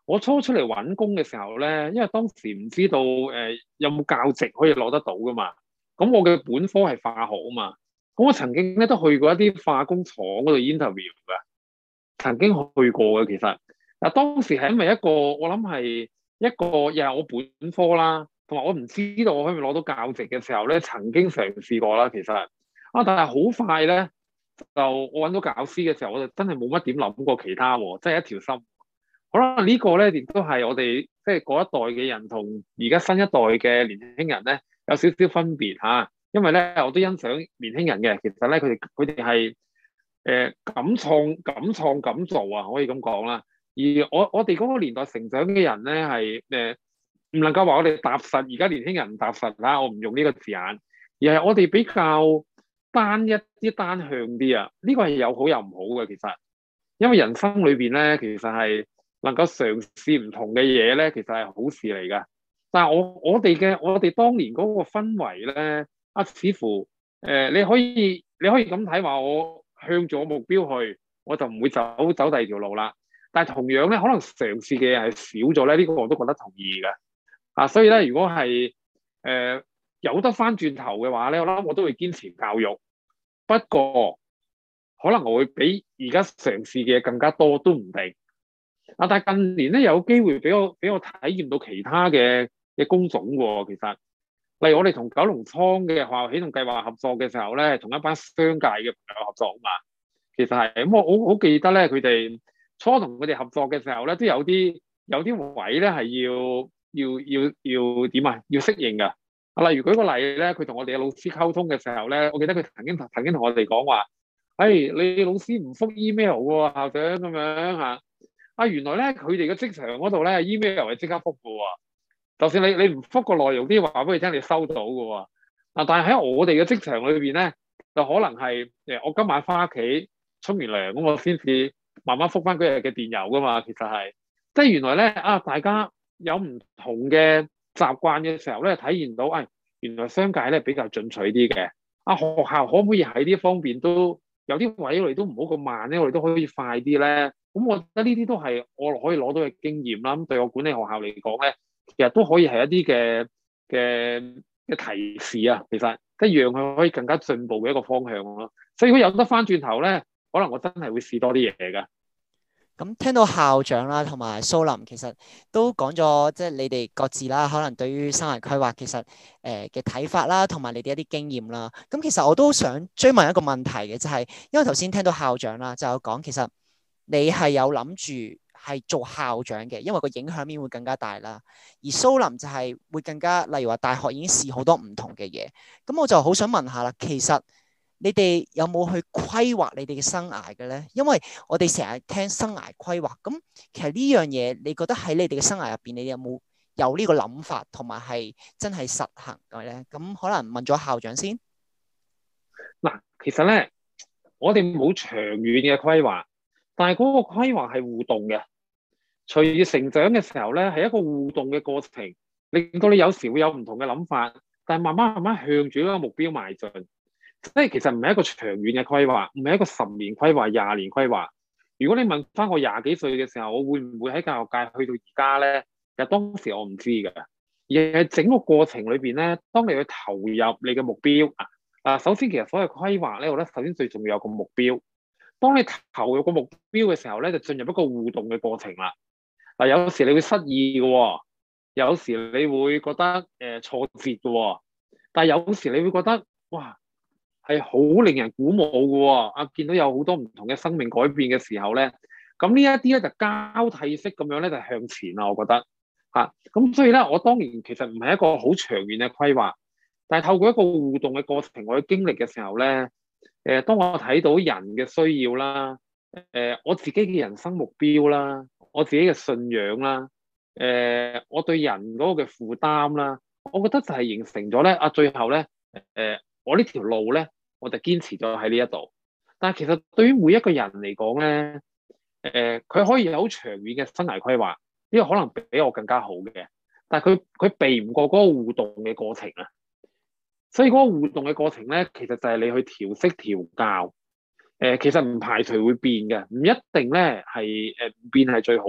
我初出嚟揾工嘅時候咧，因為當時唔知道誒、呃、有冇教職可以攞得到噶嘛。咁我嘅本科係化學啊嘛。咁我曾經咧都去過一啲化工廠嗰度 interview 㗎，曾經去過嘅其實。嗱當時係因為一個我諗係一個又係我本科啦，同埋我唔知道我可唔可以攞到教職嘅時候咧，曾經嘗試過啦其實。啊，但係好快咧，就我揾到教師嘅時候，我就真係冇乜點諗過其他喎，真係一條心。可能呢個咧亦都係我哋即係嗰一代嘅人同而家新一代嘅年輕人咧有少少分別嚇，因為咧我都欣賞年輕人嘅，其實咧佢哋佢哋係誒敢創敢創敢做啊，可以咁講啦。而我我哋嗰個年代成長嘅人咧係誒唔能夠話我哋踏實，而家年輕人唔踏實啦，我唔用呢個字眼，而係我哋比較單一啲、單向啲啊。呢個係有好有唔好嘅，其實因為人生裏邊咧，其實係能夠嘗試唔同嘅嘢咧，其實係好事嚟㗎。但係我我哋嘅我哋當年嗰個氛圍咧，啊，似乎誒、呃、你可以你可以咁睇話，我向住我目標去，我就唔會走走第二條路啦。但係同樣咧，可能嘗試嘅嘢係少咗咧，呢、這個我都覺得同意嘅。啊，所以咧，如果係誒、呃、有得翻轉頭嘅話咧，我諗我都會堅持教育。不過可能我會比而家嘗試嘅嘢更加多都唔定。啊，但係近年咧有機會俾我俾我體驗到其他嘅嘅工種喎。其實，例如我哋同九龍倉嘅學校起動計劃合作嘅時候咧，同一班商界嘅朋友合作啊嘛。其實係咁，我好好記得咧，佢哋初同佢哋合作嘅時候咧，都有啲有啲位咧係要要要要點啊？要適應㗎。啊，例如舉個例咧，佢同我哋嘅老師溝通嘅時候咧，我記得佢曾經曾經同我哋講話，誒、hey, 你老師唔覆 email 喎，校長咁樣嚇。啊，原來咧佢哋嘅職場嗰度咧 email 係即刻覆㗎喎。就算你你唔覆個內容，啲話俾佢聽，你收到㗎喎。啊，但係喺我哋嘅職場裏邊咧，就可能係誒我今晚翻屋企沖完涼咁，我先至慢慢覆翻嗰日嘅電郵㗎嘛。其實係即係原來咧啊，大家有唔同嘅習慣嘅時候咧，體現到誒、哎、原來商界咧比較進取啲嘅。啊，學校可唔可以喺呢方面都有啲位我哋都唔好咁慢咧，我哋都可以快啲咧。咁我覺得呢啲都係我可以攞到嘅經驗啦。咁對我管理學校嚟講咧，其實都可以係一啲嘅嘅嘅提示啊。其實即係讓佢可以更加進步嘅一個方向咯。所以如果有得翻轉頭咧，可能我真係會試多啲嘢㗎。 咁聽到校長啦，同埋蘇林其實都講咗，即係你哋各自啦，可能對於生涯規劃其實誒嘅睇法啦，同埋你哋一啲經驗啦。咁其實我都想追問一個問題嘅，就係因為頭先聽到校長啦，就有講其實你係有諗住係做校長嘅，因為個影響面會更加大啦。而蘇林就係會更加，例如話大學已經試好多唔同嘅嘢。咁我就好想問下啦，其實你哋有冇去規劃你哋嘅生涯嘅咧？因為我哋成日聽生涯規劃，咁其實呢樣嘢，你覺得喺你哋嘅生涯入邊，你哋有冇有呢個諗法，同埋係真係實行嘅咧？咁可能問咗校長先。 嗱，其實咧，我哋冇長遠嘅規劃，但係嗰個規劃係互動嘅。隨住成長嘅時候咧，係一個互動嘅過程，令到你有時會有唔同嘅諗法，但係慢慢慢慢向住一個目標邁進。即係其實唔係一個長遠嘅規劃，唔係一個十年規劃、廿年規劃。如果你問翻我廿幾歲嘅時候，我會唔會喺教育界去到而家咧？其實當時我唔知㗎，而係整個過程裏邊咧，當你去投入你嘅目標啊，啊，首先其實所謂規劃咧，我覺得首先最重要有個目標。當你投入個目標嘅時候咧，就進入一個互動嘅過程啦。嗱，有時你會失意嘅喎，有時你會覺得誒、呃、挫折嘅喎，但係有時你會覺得哇，係好令人鼓舞嘅喎，啊，見到有好多唔同嘅生命改變嘅時候咧，咁呢一啲咧就交替式咁樣咧就向前啦，我覺得嚇。咁、啊、所以咧，我當然其實唔係一個好長遠嘅規劃，但係透過一個互動嘅過程，我去經歷嘅時候咧，誒、呃，當我睇到人嘅需要啦，誒、呃，我自己嘅人生目標啦，我自己嘅信仰啦，誒、呃，我對人嗰個嘅負擔啦，我覺得就係形成咗咧，啊，最後咧，誒、呃，我呢條路咧。我就堅持咗喺呢一度，但係其實對於每一個人嚟講咧，誒、呃，佢可以有好長遠嘅生涯規劃，呢個可能比我更加好嘅，但係佢佢避唔過嗰個互動嘅過程啊。所以嗰個互動嘅過程咧，其實就係你去調適調教，誒、呃，其實唔排除會變嘅，唔一定咧係誒唔變係最好嘅，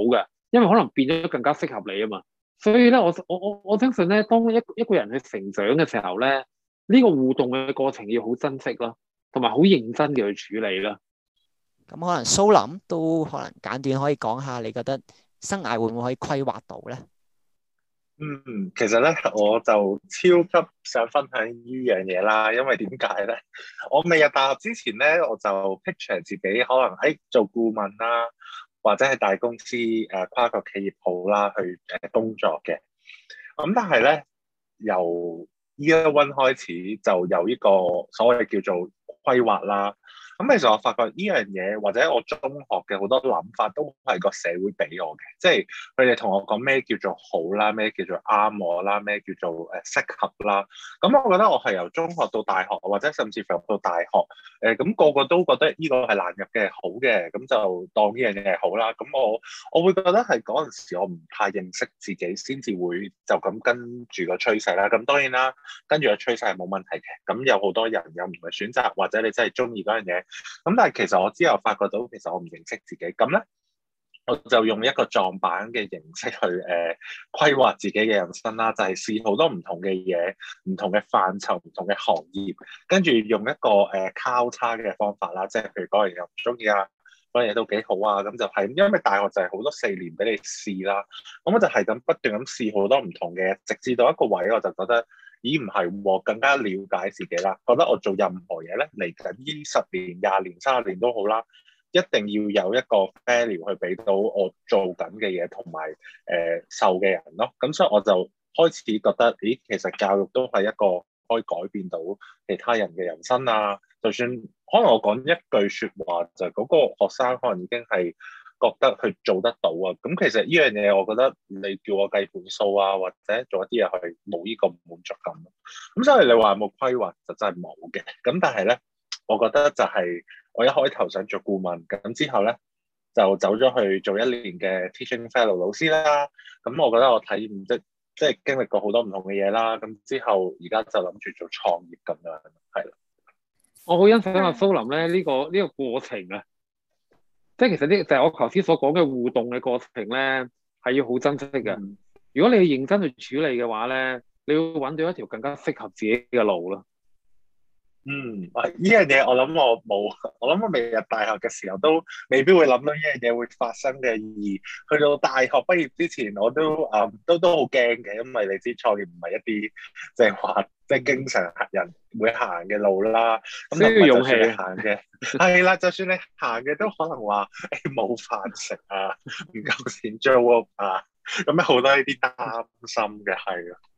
因為可能變咗更加適合你啊嘛。所以咧，我我我我相信咧，當一一個人去成長嘅時候咧，呢個互動嘅過程要好珍惜咯，同埋好認真嘅去處理啦。 咁可能蘇林都可能簡短可以講下，你覺得生涯會唔會可以規劃到咧？ 嗯，其實咧我就超級想分享呢樣嘢啦，因為點解咧？我未入大學之前咧，我就 picture 自己可能喺做顧問啦，或者係大公司誒、呃、跨國企業好啦，去誒工作嘅。咁但係咧，由 year one 開始就有呢個所謂叫做規劃啦。咁其實我發覺呢樣嘢，或者我中學嘅好多諗法，都係個社會俾我嘅，即係佢哋同我講咩叫做好啦，咩叫做啱我啦，咩叫做誒適合啦。咁我覺得我係由中學到大學，或者甚至乎入到大學，誒、呃、咁、那個個都覺得呢個係難入嘅好嘅，咁就當呢樣嘢係好啦。咁我我會覺得係嗰陣時我唔太認識自己，先至會就咁跟住個趨勢啦。咁當然啦，跟住個趨勢係冇問題嘅。咁有好多人有唔同嘅選擇，或者你真係中意嗰樣嘢。咁但係其實我之後發覺到，其實我唔認識自己，咁咧我就用一個撞板嘅形式去誒、呃、規劃自己嘅人生啦，就係、是、試好多唔同嘅嘢、唔同嘅範疇、唔同嘅行業，跟住用一個誒、呃、交叉嘅方法啦，即係譬如嗰樣嘢又唔中意啊，嗰樣嘢都幾好啊，咁就係因為大學就係好多四年俾你試啦，咁我就係咁不斷咁試好多唔同嘅，直至到一個位我就覺得。咦，唔係喎，更加了解自己啦。覺得我做任何嘢咧，嚟緊呢十年、廿年、三十年都好啦，一定要有一個 value 去俾到我做緊嘅嘢同埋誒受嘅人咯。咁所以我就開始覺得，咦，其實教育都係一個可以改變到其他人嘅人生啊。就算可能我講一句説話，就係嗰個學生可能已經係覺得佢做得到啊，咁其實呢樣嘢，我覺得你叫我計盤數啊，或者做一啲嘢係冇呢個滿足感。咁所以你話有冇規劃就真係冇嘅。咁但係咧，我覺得就係我一開頭想做顧問，咁之後咧就走咗去做一年嘅 teaching fellow 老師啦。咁我覺得我體驗即即係經歷過好多唔同嘅嘢啦。咁之後而家就諗住做創業咁樣，係啦。 我好欣賞阿蘇林咧呢個呢個過程啊。即係其實呢就係我頭先所講嘅互動嘅過程咧，係要好珍惜嘅。嗯、如果你認真去處理嘅話咧，你要揾到一條更加適合自己嘅路咯。 嗯，呢樣嘢我諗我冇，我諗我未入大學嘅時候都未必會諗到呢樣嘢會發生嘅。而去到大學畢業之前，我都誒、嗯、都都好驚嘅，因為你知創業唔係一啲即係話即係經常人會行嘅路啦。咁需要勇氣行嘅，係啦，就算你行嘅都可能話誒冇飯食啊，唔夠錢租屋啊，咁樣好多呢啲擔心嘅，係啊。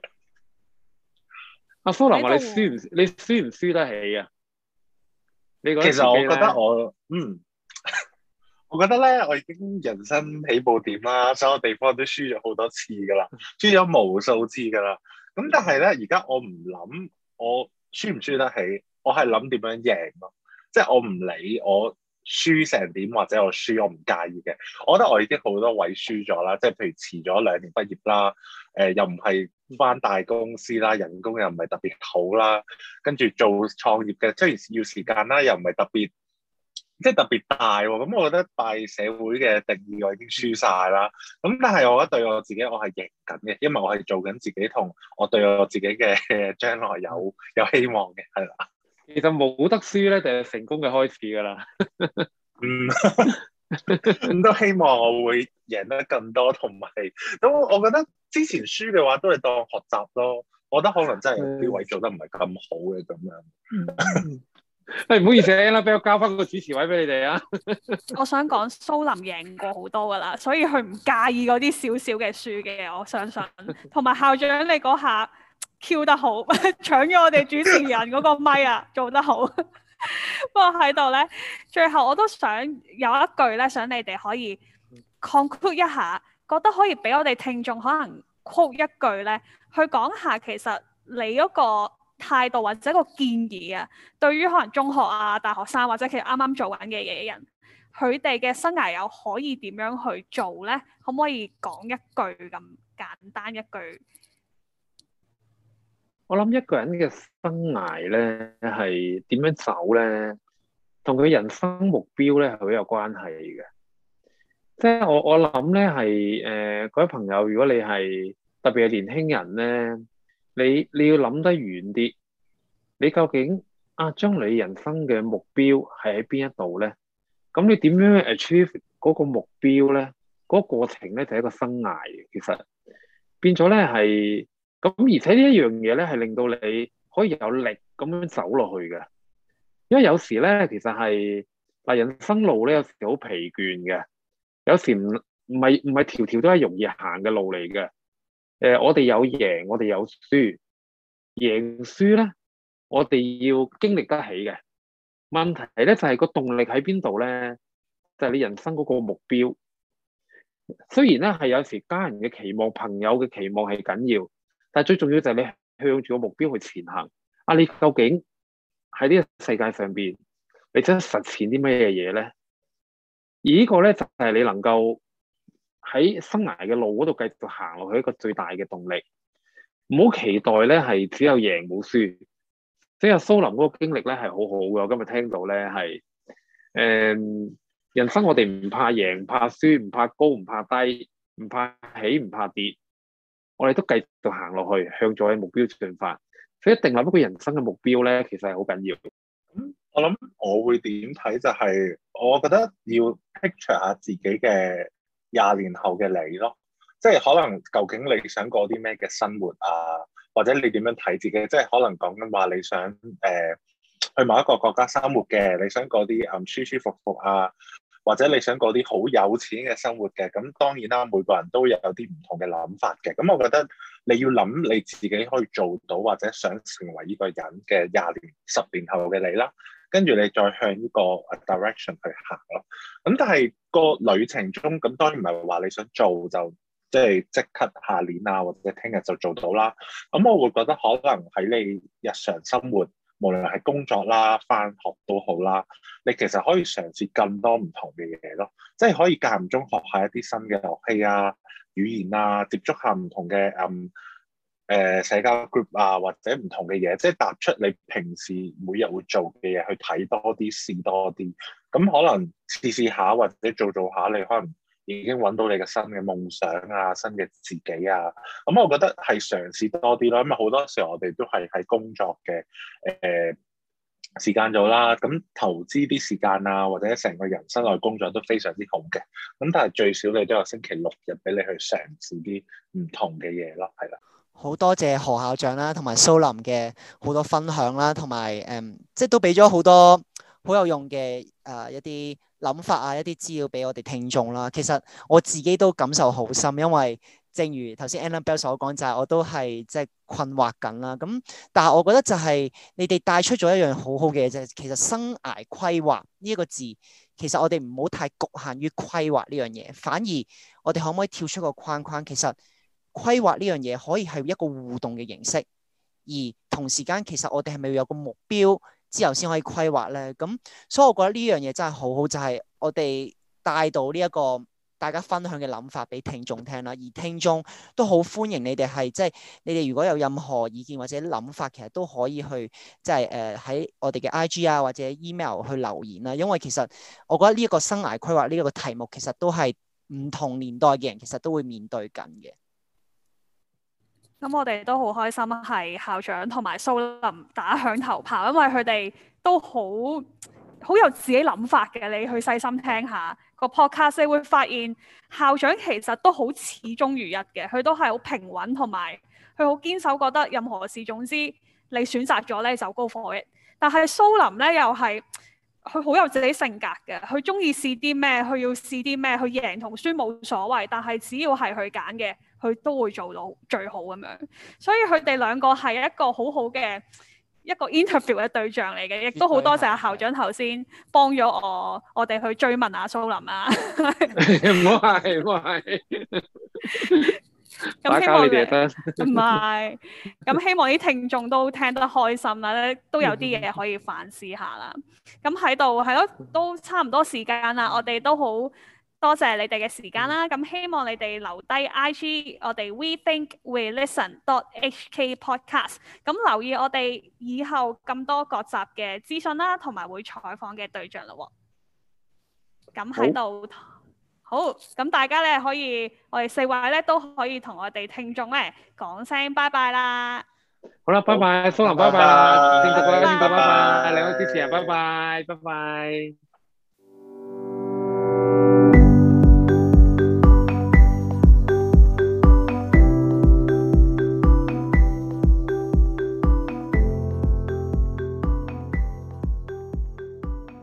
阿蘇林話：你輸唔你輸唔輸得起啊？你覺得其實我覺得我嗯，我覺得咧，我已經人生起步點啦，所有地方都輸咗好多次噶啦，輸咗無數次噶啦。咁但係咧，而家我唔諗我輸唔輸得起，我係諗點樣贏咯。即係我唔理我輸成點或者我輸，我唔介意嘅。我覺得我已經好多位輸咗啦，即係譬如遲咗兩年畢業啦，誒、呃、又唔係返大公司啦，人工又唔係特別好啦，跟住做創業嘅，即係要時間啦，又唔係特別即係特別大喎。咁我覺得拜社會嘅定義，我已經輸晒啦。咁但係我覺得對我自己，我係贏緊嘅，因為我係做緊自己同我對我自己嘅將來有有希望嘅，係啦。 其實冇得輸咧，就係成功嘅開始噶啦。 嗯，咁都希望我會贏得更多，同埋咁我覺得之前輸嘅話都係當學習咯。我覺得可能真係有啲位做得唔係咁好嘅咁樣。 誒，唔好意思啊，俾我交翻個主持位俾你哋啊。 我想講蘇林贏過好多噶啦，所以佢唔介意嗰啲少少嘅輸嘅，我相信。同埋校長你嗰下 Q 得好，搶咗我哋主持人嗰個咪啊，做得好。不過喺度咧，最後我都想有一句咧，想你哋可以 conclude 一下，覺得可以俾我哋聽眾可能 quote 一句咧，去講下其實你嗰個態度或者個建議啊，對於可能中學啊、大學生或者其實啱啱做緊嘅嘢嘅人，佢哋嘅生涯又可以點樣去做咧？可唔可以講一句咁簡單一句？ 我諗一個人嘅生涯咧係點樣走咧，同佢人生目標咧係好有關係嘅。 即係我我諗咧係誒各位朋友，如果你係特別係年輕人咧，你你要諗得遠啲，你究竟啊將你人生嘅目標係喺邊一度咧？咁你點樣 achieve 嗰個目標咧？嗰、嗰個過程咧就係一個生涯嘅，其實變咗咧係咁，而且呢一樣嘢咧係令到你可以有力咁樣走落去嘅，因為有時咧其實係嗱人生路咧有時好疲倦嘅。有時唔唔係唔係條條都係容易行嘅路嚟嘅。誒、呃，我哋有贏，我哋有輸。贏輸咧，我哋要經歷得起嘅。問題咧就係、是、個動力喺邊度咧？就係、是、你人生嗰個目標。雖然咧係有時家人嘅期望、朋友嘅期望係緊要，但係最重要就係你向住個目標去前行。啊，你究竟喺呢個世界上邊，你真係實踐啲咩嘢咧？而呢個咧就係你能夠喺生涯嘅路嗰度繼續行落去一個最大嘅動力。唔好期待咧係只有贏冇輸。即係蘇林嗰個經歷咧係好好嘅。我今日聽到咧係誒人生我哋唔怕贏，唔怕輸，唔怕高，唔怕低，唔怕起，唔怕跌。我哋都繼續行落去，向咗目標進發。所以一定立一個人生嘅目標咧，其實係好緊要。 咁我諗我會點睇就係、是，我覺得要 picture 下自己嘅廿年後嘅你咯，即係可能究竟你想過啲咩嘅生活啊，或者你點樣睇自己，即係可能講緊話你想誒、呃、去某一個國家生活嘅，你想過啲嗯舒舒服服啊，或者你想過啲好有錢嘅生活嘅，咁當然啦，每個人都有啲唔同嘅諗法嘅，咁我覺得你要諗你自己可以做到或者想成為呢個人嘅廿年、十年後嘅你啦。跟住你再向呢個 direction 去行咯。咁但係個旅程中，咁當然唔係話你想做就即係即刻下年啊，或者聽日就做到啦。咁我會覺得可能喺你日常生活，無論係工作啦、返學都好啦，你其實可以嘗試更多唔同嘅嘢咯。即係可以間唔中學下一啲新嘅樂器啊、語言啊，接觸下唔同嘅嗯。誒、呃、社交 group 啊，或者唔同嘅嘢，即係踏出你平時每日會做嘅嘢，去睇多啲、試多啲。咁可能試試下，或者做做下，你可能已經揾到你嘅新嘅夢想啊、新嘅自己啊。咁我覺得係嘗試多啲咯，因為好多時候我哋都係喺工作嘅誒、呃、時間做啦。咁投資啲時間啊，或者成個人生內工作都非常之好嘅。咁但係最少你都有星期六日俾你去嘗試啲唔同嘅嘢咯，係啦。 好多謝何校長啦，同埋蘇林嘅好多分享啦，同埋誒，即係都俾咗好多好有用嘅誒、呃、一啲諗法啊，一啲資料俾我哋聽眾啦。其實我自己都感受好深，因為正如頭先 Annabelle 所講，就係我都係即係困惑緊啦。咁但係我覺得就係你哋帶出咗一樣好好嘅嘢，就係其實生涯規劃呢一個字，其實我哋唔好太局限於規劃呢樣嘢，反而我哋可唔可以跳出個框框？其實規劃呢樣嘢可以係一個互動嘅形式，而同時間其實我哋係咪要有個目標之後先可以規劃咧？咁所以我覺得呢樣嘢真係好好，就係我哋帶到呢一個大家分享嘅諗法俾聽眾聽啦，而聽眾都好歡迎你哋係即係你哋如果有任何意見或者諗法，其實都可以去即係誒喺我哋嘅 I G 啊或者 email 去留言啦，因為其實我覺得呢一個生涯規劃呢一個題目其實都係唔同年代嘅人其實都會面對緊嘅。 咁我哋都好開心，係校長同埋蘇林打響頭炮，因為佢哋都好好有自己諗法嘅。你去細心聽下個 podcast，你會發現校長其實都好始終如一嘅，佢都係好平穩，同埋佢好堅守，覺得任何事總之你選擇咗咧就 go for it。但係蘇林咧又係佢好有自己性格嘅，佢中意試啲咩，佢要試啲咩，佢贏同輸冇所謂，但係只要係佢揀嘅，佢都會做到最好咁樣。所以佢哋兩個係一個好好嘅一個 interview 嘅對象嚟嘅，亦都好多謝阿校長頭先幫咗我，我哋去追問阿蘇林啊。 唔好係，唔好係。 咁希望你哋得唔係咁，希望啲聽眾都聽得開心啦，都有啲嘢可以反思下啦。咁喺度係咯，都差唔多時間啦，我哋都好多謝你哋嘅時間啦。咁希望你哋留低 I G 我哋 We Think We Listen dot H K Podcast， 咁留意我哋以後咁多各集嘅資訊啦，同埋會採訪嘅對象咯。咁喺度。 好，咁大家咧可以，我哋四位咧都可以同我哋聽眾咧講聲拜拜啦。 好啦，拜拜，蘇林，拜拜，正局嘅正局，拜拜，兩位主持人，拜拜，拜拜。